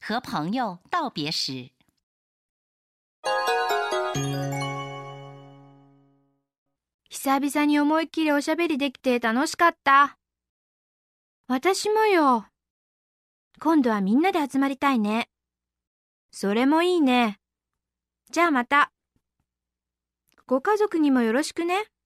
和朋友道别时。 久々に思いっきりおしゃべりできて楽しかった。私もよ。今度はみんなで集まりたいね。それもいいね。じゃあまた。ご家族にもよろしくね。